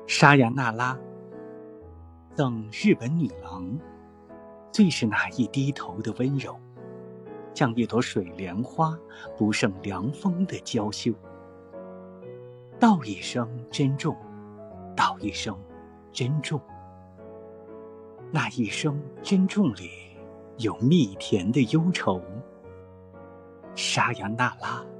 沙雅那拉赠日本女郎，最是那一低头的温柔，像一朵水莲花不胜凉风的娇羞。道一声珍重，道一声珍重。那一声珍重里有蜜甜的忧愁。沙雅那拉